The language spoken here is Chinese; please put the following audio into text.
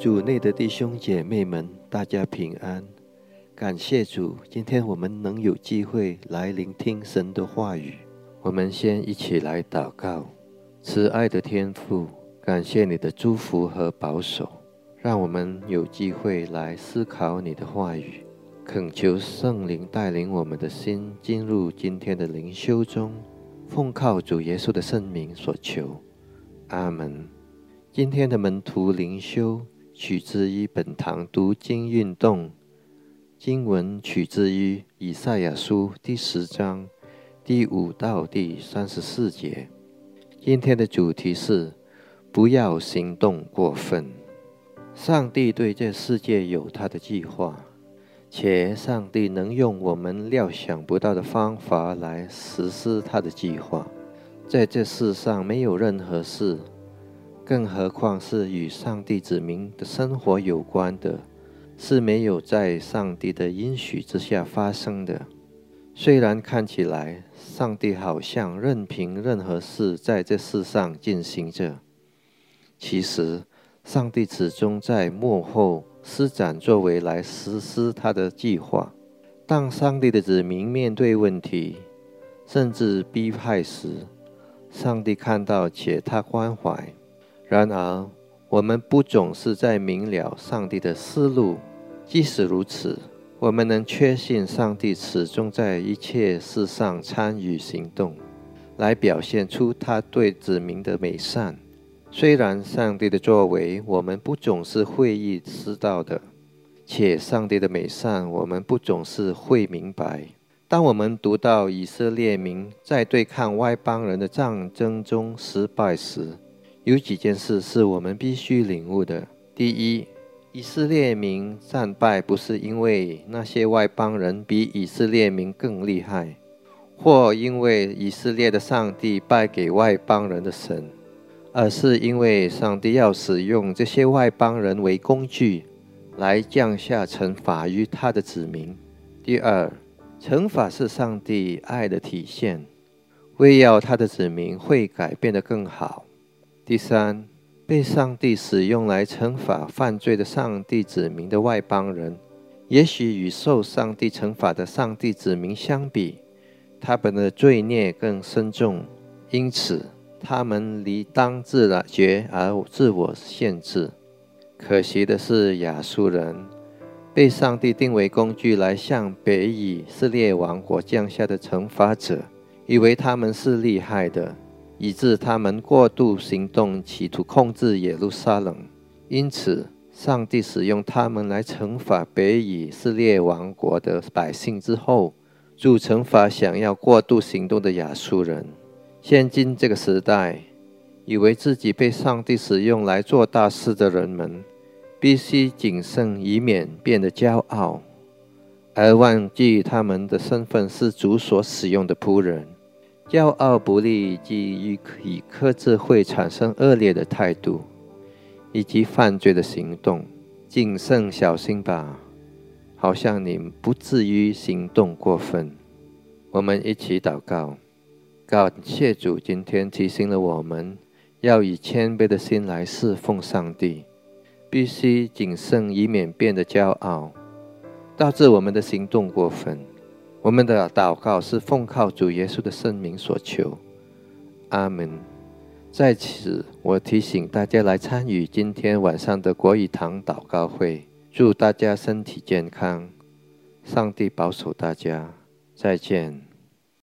主内的弟兄姐妹们，大家平安。感谢主，今天我们能有机会来聆听神的话语。我们先一起来祷告。慈爱的天父，感谢你的祝福和保守，让我们有机会来思考你的话语，恳求圣灵带领我们的心进入今天的灵修中，奉靠主耶稣的圣名所求，阿们。今天的门徒灵修取自于本堂读经运动，经文取自于以赛亚书第10章第5到第34节。今天的主题是不要行动过分。上帝对这世界有他的计划，且上帝能用我们料想不到的方法来实施他的计划。在这世上没有任何事，更何况是与上帝子民的生活有关的，是没有在上帝的允许之下发生的。虽然看起来上帝好像任凭任何事在这世上进行着，其实上帝始终在幕后施展作为来实施他的计划。当上帝的子民面对问题甚至逼害时，上帝看到且他关怀。然而我们不总是在明了上帝的思路，即使如此，我们能确信上帝始终在一切事上参与行动，来表现出他对子民的美善。虽然上帝的作为我们不总是会意识到的，且上帝的美善我们不总是会明白。当我们读到以色列民在对抗外邦人的战争中失败时，有几件事是我们必须领悟的。第一，以色列民战败不是因为那些外邦人比以色列民更厉害，或因为以色列的上帝败给外邦人的神，而是因为上帝要使用这些外邦人为工具，来降下惩罚于他的子民。第二，惩罚是上帝爱的体现，为要他的子民会改变得更好。第三，被上帝使用来惩罚犯罪的上帝子民的外邦人，也许与受上帝惩罚的上帝子民相比，他们的罪孽更深重，因此他们理当自觉而自我限制。可惜的是，亚述人被上帝定为工具来向北以色列王国降下的惩罚者，以为他们是厉害的，以致他们过度行动，企图控制耶路撒冷。因此上帝使用他们来惩罚北以色列王国的百姓之后，主惩罚想要过度行动的亚述人。现今这个时代，以为自己被上帝使用来做大事的人们，必须谨慎，以免变得骄傲，而忘记他们的身份是主所使用的仆人。骄傲不利基于克制会产生恶劣的态度以及犯罪的行动。谨慎小心吧，好像你不至于行动过分。我们一起祷告。感谢主今天提醒了我们，要以谦卑的心来侍奉上帝，必须谨慎，以免变得骄傲，导致我们的行动过分。我们的祷告是奉靠主耶稣的圣名所求，阿们。在此我提醒大家来参与今天晚上的国语堂祷告会，祝大家身体健康，上帝保守大家，再见。